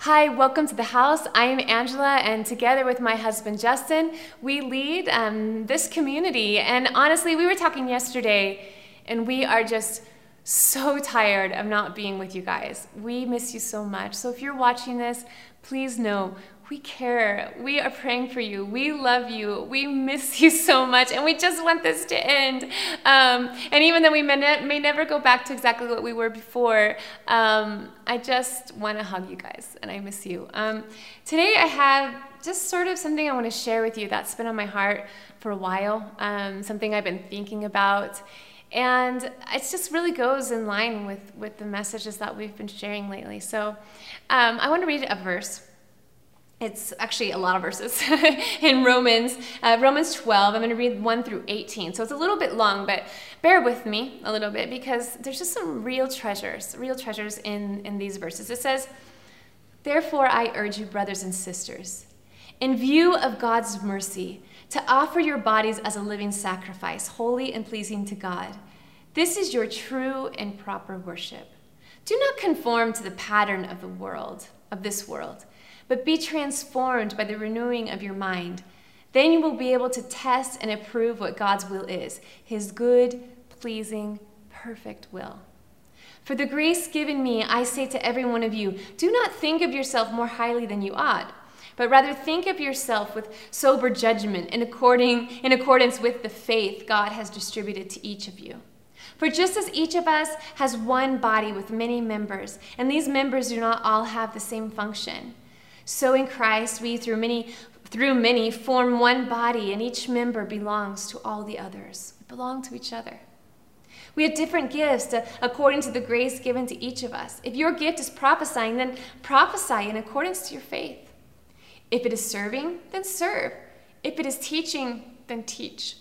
Hi, welcome to the house. I am Angela, and together with my husband Justin, we lead this community. And honestly, we were talking yesterday, and we are just so tired of not being with you guys. We miss you so much. So if you're watching this, please know we care. We are praying for you. We love you. We miss you so much, and we just want this to end. And even though we may never go back to exactly what we were before, I just want to hug you guys, and I miss you. Today I have just sort of something I want to share with you that's been on my heart for a while, something I've been thinking about. And it just really goes in line with the messages that we've been sharing lately. So I want to read a verse. It's actually a lot of verses in Romans 12. I'm going to read 1 through 18. So it's a little bit long, but bear with me a little bit because there's just some real treasures in these verses. It says, "Therefore I urge you, brothers and sisters, in view of God's mercy, to offer your bodies as a living sacrifice, holy and pleasing to God. This is your true and proper worship. Do not conform to the pattern of this world, but be transformed by the renewing of your mind. Then you will be able to test and approve what God's will is, his good, pleasing, perfect will. For the grace given me, I say to every one of you, do not think of yourself more highly than you ought, but rather think of yourself with sober judgment in accordance with the faith God has distributed to each of you. For just as each of us has one body with many members, and these members do not all have the same function, so in Christ we through many form one body, and each member belongs to all the others. We belong to each other. We have different gifts according to the grace given to each of us. If your gift is prophesying, then prophesy in accordance to your faith. If it is serving, then serve. If it is teaching, then teach.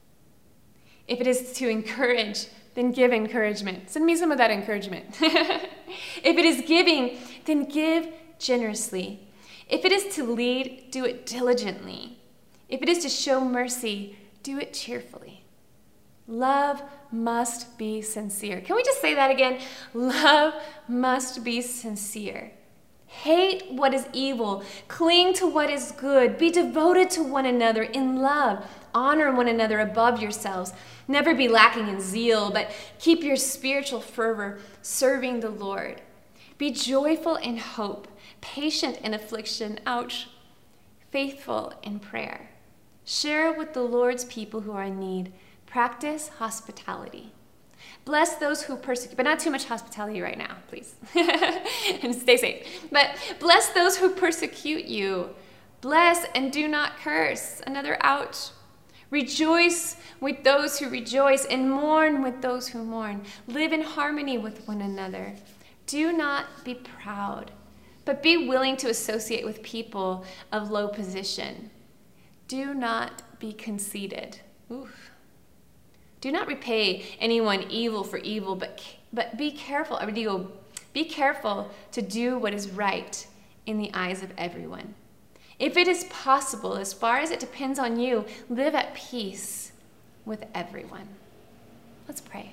If it is to encourage, then give encouragement. Send me some of that encouragement. If it is giving, then give generously. If it is to lead, do it diligently. If it is to show mercy, do it cheerfully. Love must be sincere. Can we just say that again? Love must be sincere. Hate what is evil. Cling to what is good. Be devoted to one another in love. Honor one another above yourselves. Never be lacking in zeal, but keep your spiritual fervor serving the Lord. Be joyful in hope, patient in affliction, faithful in prayer. Share with the Lord's people who are in need. Practice hospitality. Bless those who persecute, but not too much hospitality right now, please. And stay safe. But bless those who persecute you. Bless and do not curse. Another ouch. Rejoice with those who rejoice and mourn with those who mourn. Live in harmony with one another. Do not be proud, but be willing to associate with people of low position. Do not be conceited. Oof. Do not repay anyone evil for evil, but be careful. Be careful to do what is right in the eyes of everyone. If it is possible, as far as it depends on you, live at peace with everyone. Let's pray.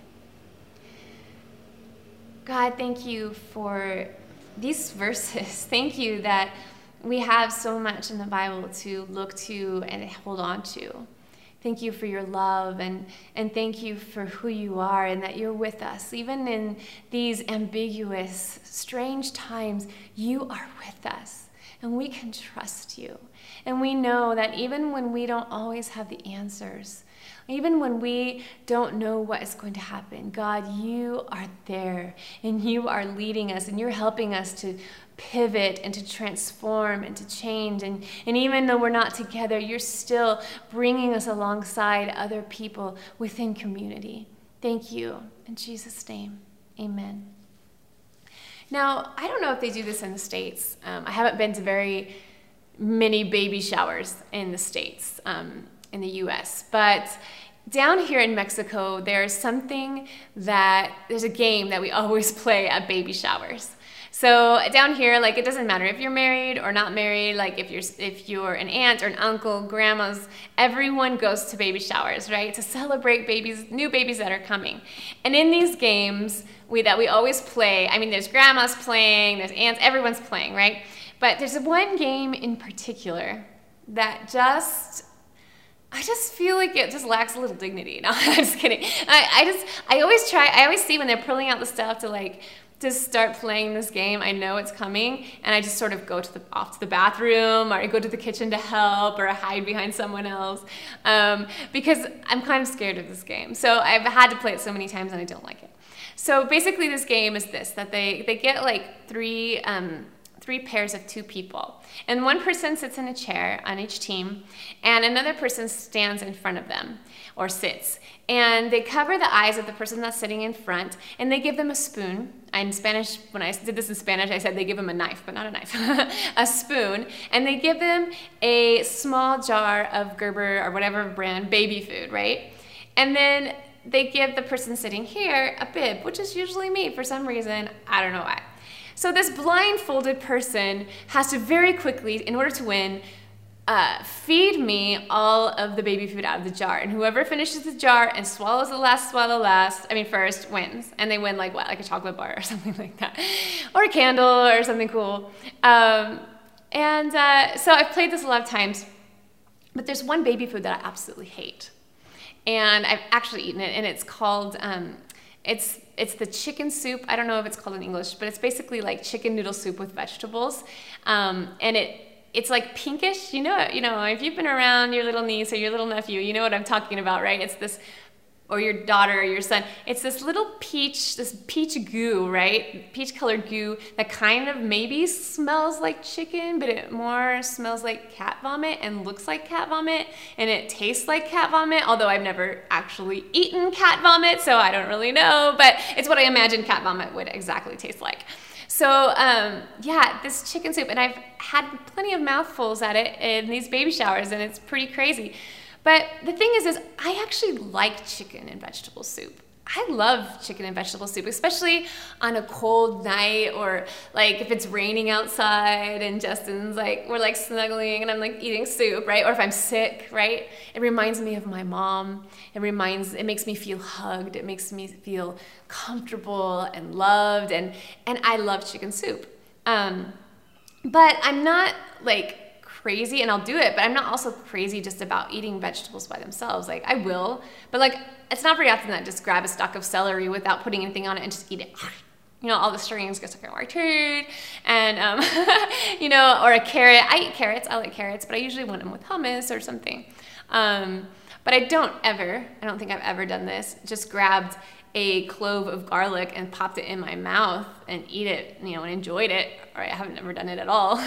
God, thank you for these verses. Thank you that we have so much in the Bible to look to and hold on to. Thank you for your love, and thank you for who you are and that you're with us. Even in these ambiguous, strange times, you are with us, and we can trust you. And we know that even when we don't always have the answers, even when we don't know what is going to happen, God, you are there, and you are leading us, and you're helping us to pivot and to transform and to change. And even though we're not together, you're still bringing us alongside other people within community. Thank you. In Jesus' name, amen. Now, I don't know if they do this in the States. I haven't been to very many baby showers in the States, in the U.S., but down here in Mexico, there's a game that we always play at baby showers. So down here, like, it doesn't matter if you're married or not married, like if you're an aunt or an uncle, grandmas, everyone goes to baby showers, right? To celebrate new babies that are coming. And in these games that we always play, I mean, there's grandmas playing, there's aunts, everyone's playing, right? But there's one game in particular that I just feel like it just lacks a little dignity. No, I'm just kidding. I always see when they're pulling out the stuff to start playing this game. I know it's coming, and I just sort of go off to the bathroom, or I go to the kitchen to help, or I hide behind someone else, because I'm kind of scared of this game. So I've had to play it so many times, and I don't like it. So basically, this game is that they get like three pairs of 2 people. And one person sits in a chair on each team, and another person stands in front of them, or sits. And they cover the eyes of the person that's sitting in front, and they give them a spoon. In Spanish, when I did this in Spanish, I said they give them a knife, but not a knife, a spoon. And they give them a small jar of Gerber or whatever brand baby food, right? And then they give the person sitting here a bib, which is usually me for some reason. I don't know why. So this blindfolded person has to very quickly, in order to win, feed me all of the baby food out of the jar. And whoever finishes the jar and swallows the last swallow first wins. And they win like a chocolate bar or something like that. Or a candle or something cool. So I've played this a lot of times. But there's one baby food that I absolutely hate. And I've actually eaten it, and it's called... It's the chicken soup. I don't know if it's called in English, but it's basically like chicken noodle soup with vegetables. And it's like pinkish. You know, if you've been around your little niece or your little nephew, you know what I'm talking about, right? It's this, or your daughter or your son. It's this little peach goo, right? Peach colored goo that kind of maybe smells like chicken, but it more smells like cat vomit and looks like cat vomit, and it tastes like cat vomit, although I've never actually eaten cat vomit, so I don't really know, but it's what I imagine cat vomit would exactly taste like. So this chicken soup, and I've had plenty of mouthfuls at it in these baby showers, and it's pretty crazy. But the thing is I actually like chicken and vegetable soup. I love chicken and vegetable soup, especially on a cold night, or like if it's raining outside and Justin's like, we're like snuggling and I'm like eating soup, right? Or if I'm sick, right? It reminds me of my mom. It makes me feel hugged. It makes me feel comfortable and loved, and I love chicken soup. But I'm not like crazy, and I'll do it, but I'm not also crazy just about eating vegetables by themselves. Like, I will, but like, it's not very often that I just grab a stalk of celery without putting anything on it and just eat it. You know, all the strings get stuck in my teeth, and or a carrot. I eat carrots. I like carrots, but I usually want them with hummus or something. But I don't think I've ever done this. Just grabbed a clove of garlic and popped it in my mouth and eat it, and enjoyed it. Or I haven't ever done it at all.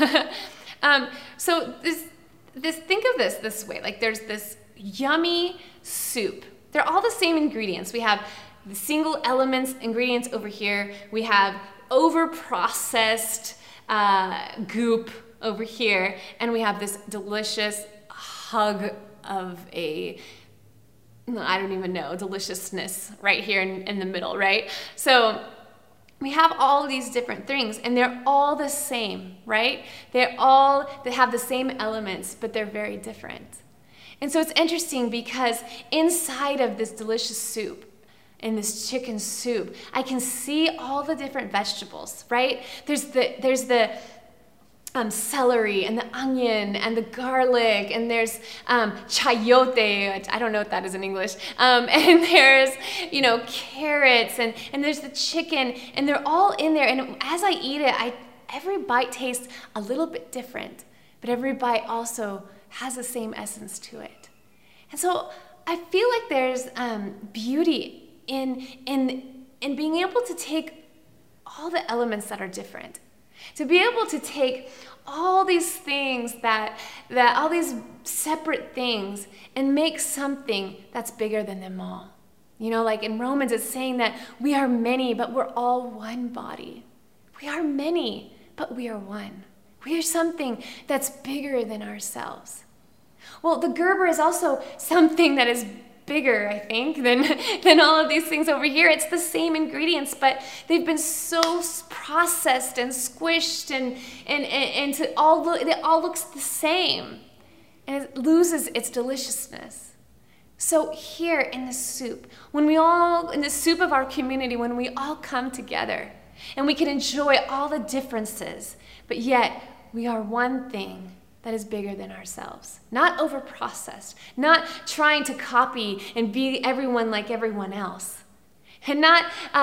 So think of this way, like there's this yummy soup. They're all the same ingredients. We have the single ingredients over here. We have over-processed goop over here. And we have this delicious hug of deliciousness right here in the middle, right? So we have all these different things, and they're all the same, right? They have the same elements, but they're very different. And so it's interesting because inside of this delicious soup, in this chicken soup, I can see all the different vegetables, right? There's the celery and the onion and the garlic, and there's chayote, which I don't know what that is in English, and there's carrots, and there's the chicken, and they're all in there. And as I eat it, every bite tastes a little bit different, but every bite also has the same essence to it. And so I feel like there's beauty in being able to take all the elements that are different. To be able to take all these things that all these separate things and make something that's bigger than them all. Like in Romans, it's saying that we are many, but we're all one body. We are many, but we are one. We are something that's bigger than ourselves. Well, the Gerber is also something that is bigger, I think, than all of these things over here. It's the same ingredients, but they've been so processed and squished and it all looks the same. And it loses its deliciousness. So here in the soup, in the soup of our community, when we all come together and we can enjoy all the differences, but yet we are one thing that is bigger than ourselves. Not over-processed, not trying to copy and be everyone like everyone else, and not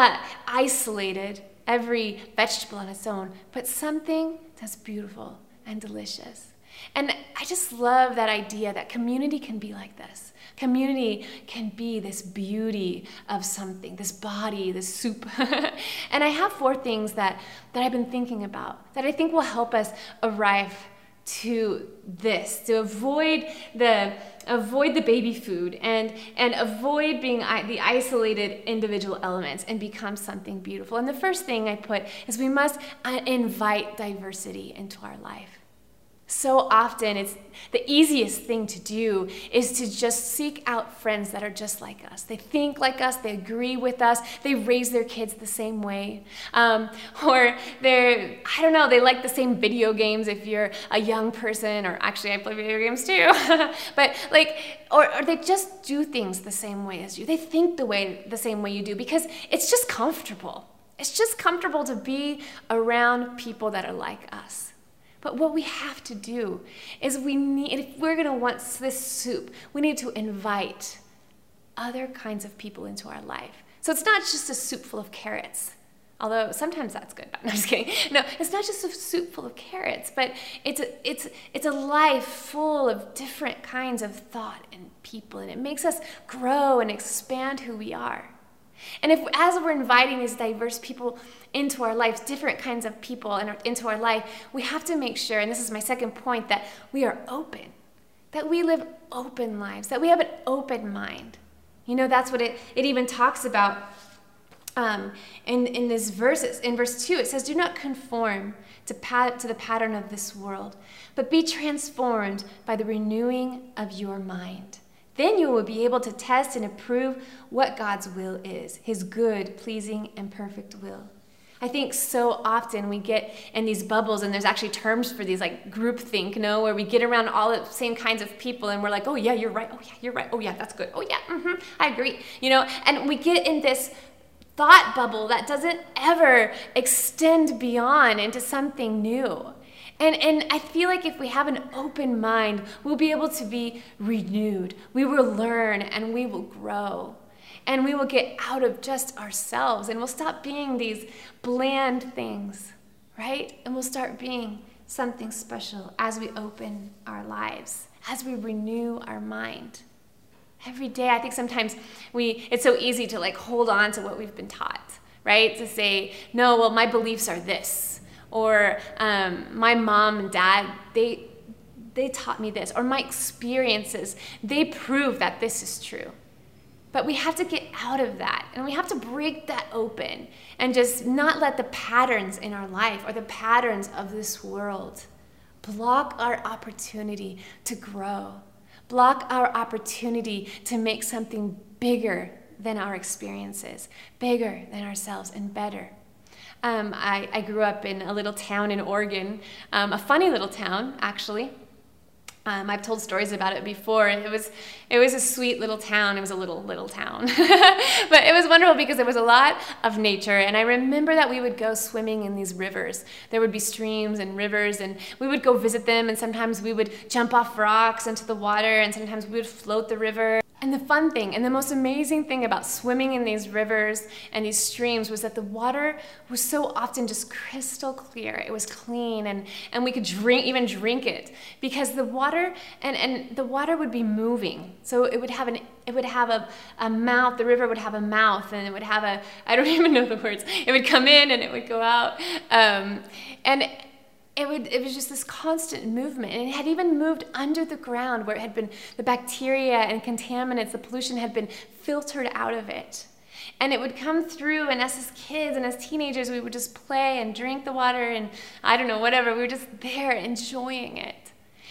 isolated, every vegetable on its own, but something that's beautiful and delicious. And I just love that idea that community can be like this. Community can be this beauty of something, this body, this soup. And I have 4 things that I've been thinking about that I think will help us arrive to this, to avoid the baby food and avoid being the isolated individual elements and become something beautiful. And the first thing I put is we must invite diversity into our life. So often it's the easiest thing to do is to just seek out friends that are just like us. They think like us, they agree with us, they raise their kids the same way. Or they like the same video games if you're a young person, or actually I play video games too. But or they just do things the same way as you. They think the same way you do because it's just comfortable. It's just comfortable to be around people that are like us. But what we have to do is if we're going to want this soup, we need to invite other kinds of people into our life. So it's not just a soup full of carrots, although sometimes that's good. No, I'm just kidding. No, it's not just a soup full of carrots, but it's a life full of different kinds of thought and people, and it makes us grow and expand who we are. And as we're inviting these diverse people into our lives, different kinds of people into our life, we have to make sure, and this is my second point, that we are open, that we live open lives, that we have an open mind. You know, that's what it even talks about in this verses. In verse 2, it says, "Do not conform to the pattern of this world, but be transformed by the renewing of your mind. Then you will be able to test and approve what God's will is, his good, pleasing, and perfect will." I think so often we get in these bubbles, and there's actually terms for these, like groupthink, where we get around all the same kinds of people, and we're like, oh yeah, you're right. Oh yeah, you're right. Oh yeah, that's good. Oh yeah, I agree. And we get in this thought bubble that doesn't ever extend beyond into something new. And I feel like if we have an open mind, we'll be able to be renewed. We will learn and we will grow. And we will get out of just ourselves, and we'll stop being these bland things, right? And we'll start being something special as we open our lives, as we renew our mind. Every day, I think sometimes it's so easy to hold on to what we've been taught, right? To say, no, well, my beliefs are this. Or my mom and dad, they taught me this. Or my experiences, they prove that this is true. But we have to get out of that, and we have to break that open and just not let the patterns in our life or the patterns of this world block our opportunity to grow, block our opportunity to make something bigger than our experiences, bigger than ourselves, and better. I grew up in a little town in Oregon, a funny little town, actually. I've told stories about it before. It was a sweet little town. It was a little town. But it was wonderful because there was a lot of nature. And I remember that we would go swimming in these rivers. There would be streams and rivers, and we would go visit them. And sometimes we would jump off rocks into the water, and sometimes we would float the river. And the fun thing and the most amazing thing about swimming in these rivers and these streams was that the water was so often just crystal clear. It was clean, and we could even drink it, because the water and the water would be moving. So it would have a mouth. The river would have a mouth, and it would have I don't even know the words. It would come in and it would go out, and it was just this constant movement. And it had even moved under the ground, where it had been the bacteria and contaminants, the pollution had been filtered out of it. And it would come through, and us as kids and as teenagers, we would just play and drink the water and I don't know, whatever. We were just there enjoying it.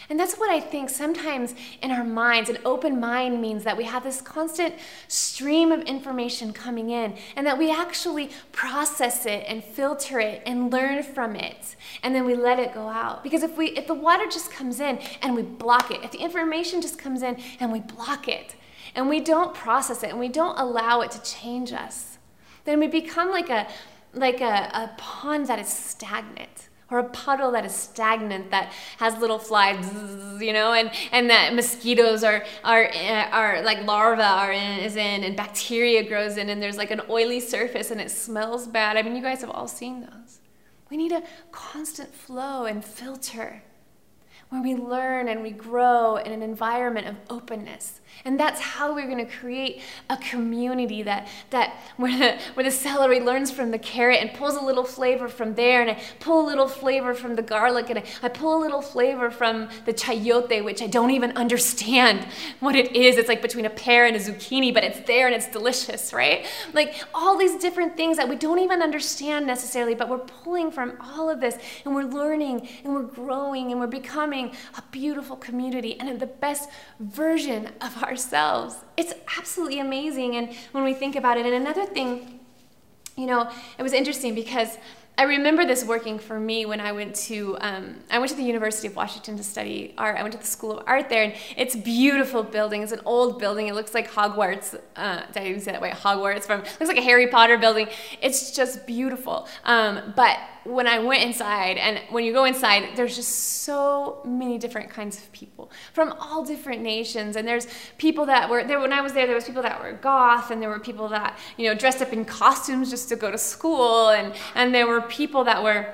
And that's what I think sometimes in our minds, an open mind means that we have this constant stream of information coming in and that we actually process it and filter it and learn from it. And then we let it go out. Because if the water just comes in and we block it, if the information just comes in and we block it, and we don't process it and we don't allow it to change us, then we become like a pond that is stagnant. Or a puddle that is stagnant, that has little flies, and that mosquitoes are like larvae is in, and bacteria grows in, and there's like an oily surface and it smells bad. I mean, you guys have all seen those. We need a constant flow and filter where we learn and we grow in an environment of openness. And that's how we're going to create a community that where the celery learns from the carrot and pulls a little flavor from there, and I pull a little flavor from the garlic, and I pull a little flavor from the chayote, which I don't even understand what it is. It's like between a pear and a zucchini, but it's there and it's delicious, right? Like all these different things that we don't even understand necessarily, but we're pulling from all of this, and we're learning and we're growing and we're becoming a beautiful community and the best version of ourselves. It's absolutely amazing. And when we think about it, and another thing, it was interesting because I remember this working for me when I went to the University of Washington to study art. I went to the School of Art there, and it's a beautiful building. It's an old building. It looks like Hogwarts. Did I even say that way? Hogwarts. Looks like a Harry Potter building. It's just beautiful. But when I went inside, and when you go inside, there's just so many different kinds of people from all different nations. And there's people that were there when I was there. There was people that were goth, and there were people that dressed up in costumes just to go to school, and there were people that were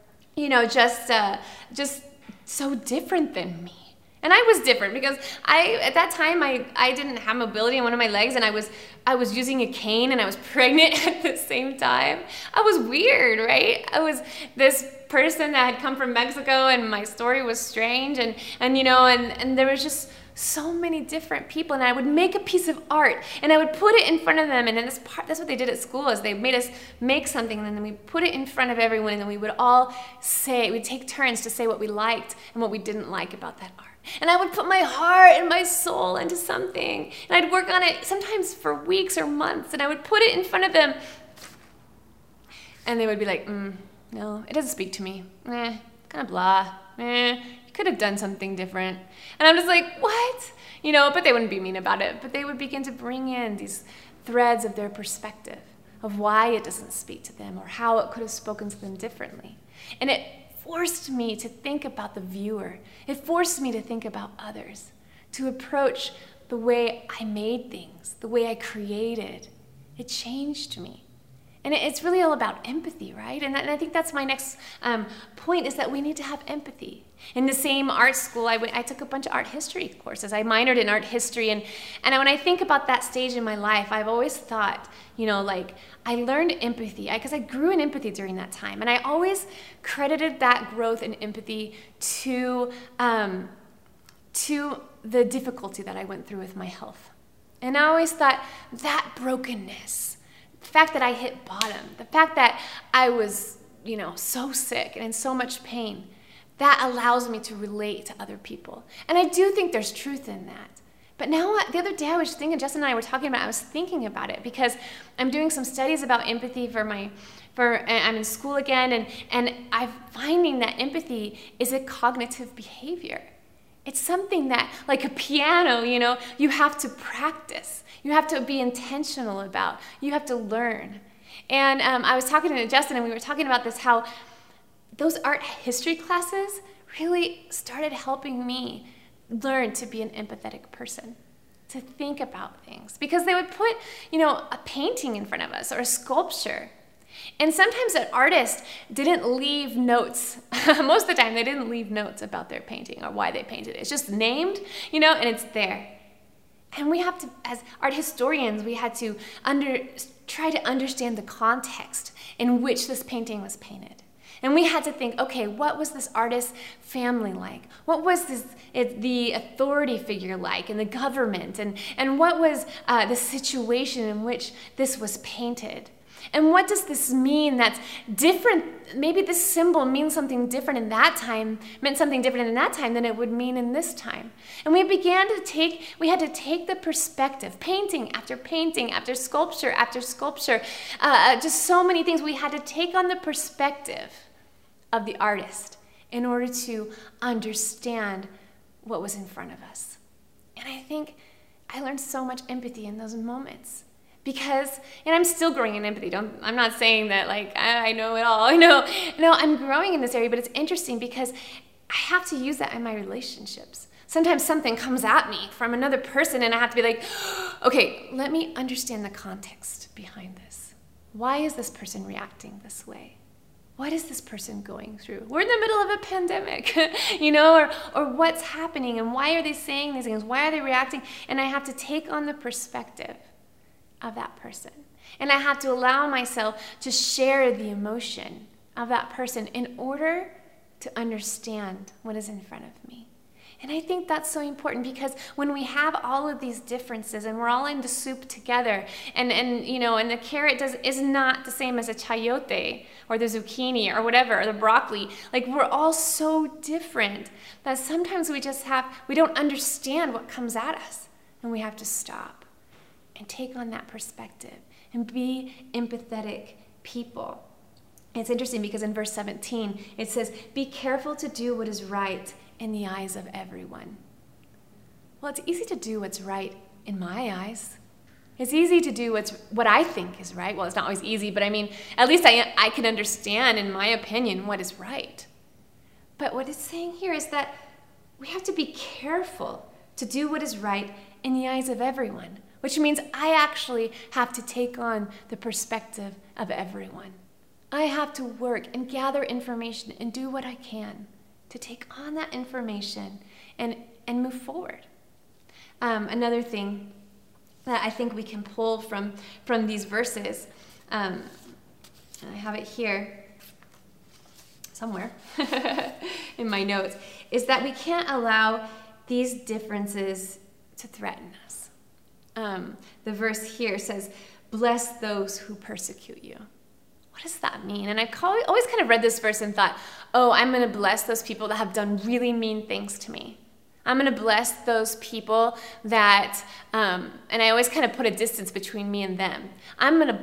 just so different than me. And I was different because at that time I didn't have mobility in one of my legs, and I was using a cane, and I was pregnant at the same time. I was weird, right? I was this person that had come from Mexico, and my story was strange, and there was just so many different people, and I would make a piece of art and I would put it in front of them, and then that's what they did at school, is they made us make something, and then we put it in front of everyone, and then we would all we'd take turns to say what we liked and what we didn't like about that art. And I would put my heart and my soul into something, and I'd work on it sometimes for weeks or months, and I would put it in front of them, and they would be like, no, it doesn't speak to me, kind of blah, could have done something different. And I'm just like, what? But they wouldn't be mean about it. But they would begin to bring in these threads of their perspective of why it doesn't speak to them or how it could have spoken to them differently. And it forced me to think about the viewer. It forced me to think about others, to approach the way I made things, the way I created. It changed me. And it's really all about empathy, right? And I think that's my next point, is that we need to have empathy. In the same art school, I took a bunch of art history courses. I minored in art history. And when I think about that stage in my life, I've always thought, I learned empathy because I grew in empathy during that time. And I always credited that growth in empathy to the difficulty that I went through with my health. And I always thought that brokenness, the fact that I hit bottom, the fact that I was, so sick and in so much pain, that allows me to relate to other people. And I do think there's truth in that. But now, the other day I was thinking, Justin and I were talking about it, I was thinking about it because I'm doing some studies about empathy I'm in school again, and I'm finding that empathy is a cognitive behavior. It's something that, like a piano, you have to practice. You have to be intentional about. You have to learn. And I was talking to Justin, and we were talking about this, how those art history classes really started helping me learn to be an empathetic person, to think about things. Because they would put, a painting in front of us or a sculpture. And sometimes an artist didn't leave notes. Most of the time, they didn't leave notes about their painting or why they painted it. It's just named, and it's there. And we have to, as art historians, we had to try to understand the context in which this painting was painted. And we had to think, okay, what was this artist's family like? What was the authority figure like in the government? And what was the situation in which this was painted? And what does this mean that's different? Maybe this symbol means something different in that time, meant something different in that time than it would mean in this time. And we had to take the perspective, painting after sculpture after sculpture, just so many things. We had to take on the perspective of the artist in order to understand what was in front of us. And I think I learned so much empathy in those moments. Because, and I'm still growing in empathy. I'm not saying that like I know it all. No, I'm growing in this area, but it's interesting because I have to use that in my relationships. Sometimes something comes at me from another person and I have to be like, okay, let me understand the context behind this. Why is this person reacting this way? What is this person going through? We're in the middle of a pandemic, or what's happening and why are they saying these things? Why are they reacting? And I have to take on the perspective of that person. And I have to allow myself to share the emotion of that person in order to understand what is in front of me. And I think that's so important because when we have all of these differences and we're all in the soup together and the carrot is not the same as a chayote or the zucchini or whatever, or the broccoli, like we're all so different that sometimes we don't understand what comes at us and we have to stop and take on that perspective and be empathetic people. It's interesting because in verse 17, it says, be careful to do what is right in the eyes of everyone. Well, it's easy to do what's right in my eyes. It's easy to do what I think is right. Well, it's not always easy, but I mean, at least I can understand, in my opinion, what is right. But what it's saying here is that we have to be careful to do what is right in the eyes of everyone, which means I actually have to take on the perspective of everyone. I have to work and gather information and do what I can to take on that information and move forward. Another thing that I think we can pull from these verses, I have it here somewhere in my notes, is that we can't allow these differences to threaten us. The verse here says, bless those who persecute you. What does that mean? And I've always kind of read this verse and thought, oh, I'm going to bless those people that have done really mean things to me. I'm going to bless those people that, and I always kind of put a distance between me and them. I'm going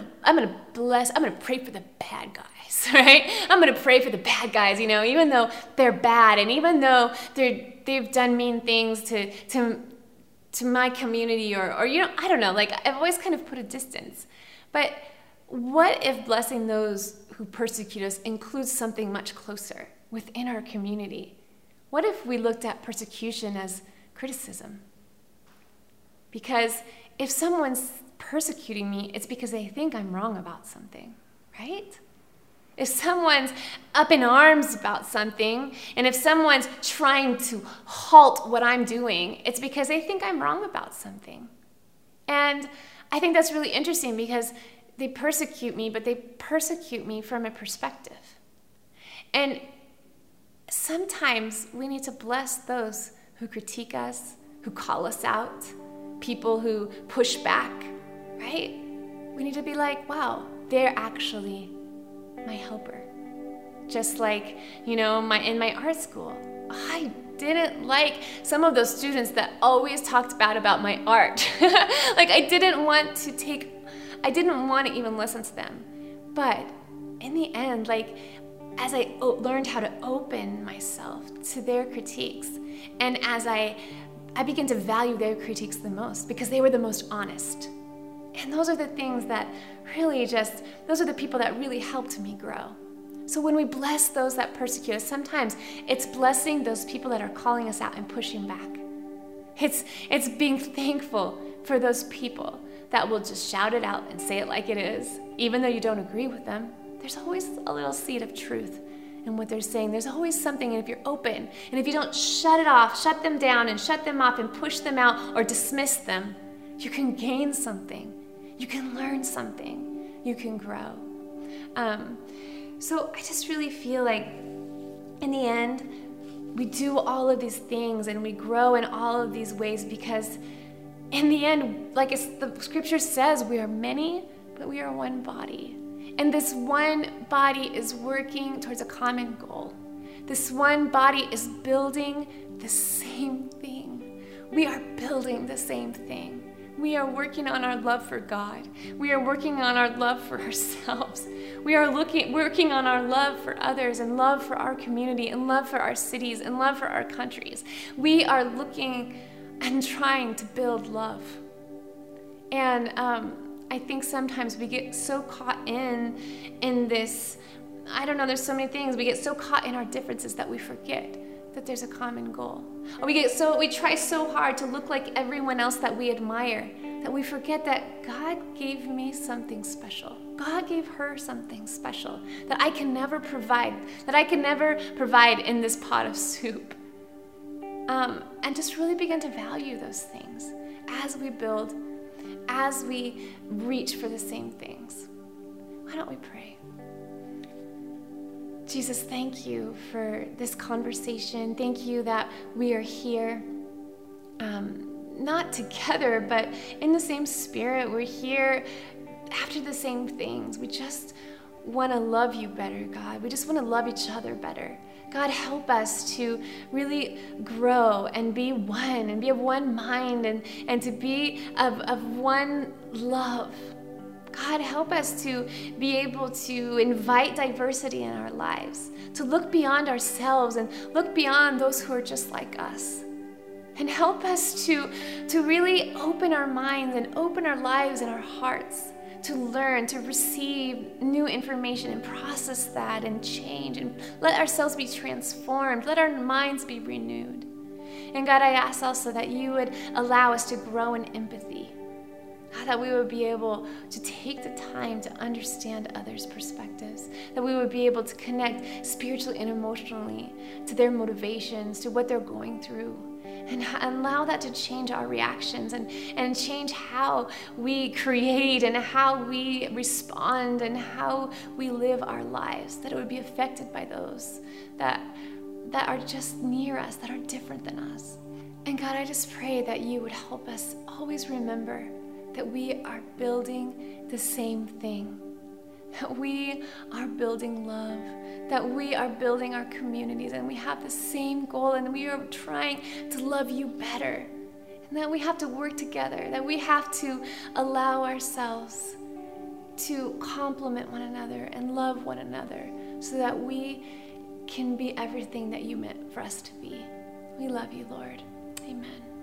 to pray for the bad guys, right? I'm going to pray for the bad guys, even though they're bad and even though they've done mean things to my community or I don't know, like I've always kind of put a distance. But what if blessing those who persecute us includes something much closer within our community? What if we looked at persecution as criticism? Because if someone's persecuting me, it's because they think I'm wrong about something, right? If someone's up in arms about something, and if someone's trying to halt what I'm doing, it's because they think I'm wrong about something. And I think that's really interesting because they persecute me, but they persecute me from a perspective. And sometimes we need to bless those who critique us, who call us out, people who push back, right? We need to be like, wow, they're actually my helper. Just like, in my art school, I didn't like some of those students that always talked bad about my art. Like I didn't want to even listen to them. But in the end, like as I learned how to open myself to their critiques, and as I began to value their critiques the most because they were the most honest. And those are the things that really those are the people that really helped me grow. So when we bless those that persecute us, sometimes it's blessing those people that are calling us out and pushing back. It's being thankful for those people that will just shout it out and say it like it is. Even though you don't agree with them, there's always a little seed of truth in what they're saying. There's always something, and if you're open, and if you don't shut it off, shut them down and shut them off and push them out or dismiss them, you can gain something. You can learn something. You can grow. So I just really feel like in the end, we do all of these things and we grow in all of these ways because in the end, like the scripture says, we are many, but we are one body. And this one body is working towards a common goal. This one body is building the same thing. We are building the same thing. We are working on our love for God. We are working on our love for ourselves. We are working on our love for others and love for our community and love for our cities and love for our countries. We are looking and trying to build love. And I think sometimes we get so caught in this, I don't know, there's so many things. We get so caught in our differences that we forget that there's a common goal. Or we try so hard to look like everyone else that we admire that we forget that God gave me something special. God gave her something special that I can never provide, in this pot of soup. And just really begin to value those things as we build, as we reach for the same things. Why don't we pray? Jesus, thank you for this conversation. Thank you that we are here, not together, but in the same spirit. We're here after the same things. We just want to love you better, God. We just want to love each other better. God, help us to really grow and be one and be of one mind and to be of one love. God, help us to be able to invite diversity in our lives, to look beyond ourselves and look beyond those who are just like us. And help us to really open our minds and open our lives and our hearts to learn, to receive new information and process that and change and let ourselves be transformed, let our minds be renewed. And God, I ask also that you would allow us to grow in empathy. God, that we would be able to take the time to understand others' perspectives, that we would be able to connect spiritually and emotionally to their motivations, to what they're going through, and allow that to change our reactions and change how we create and how we respond and how we live our lives, that it would be affected by those that are just near us, that are different than us. And God, I just pray that you would help us always remember that we are building the same thing, that we are building love, that we are building our communities, and we have the same goal, and we are trying to love you better, and that we have to work together, that we have to allow ourselves to complement one another and love one another so that we can be everything that you meant for us to be. We love you, Lord. Amen.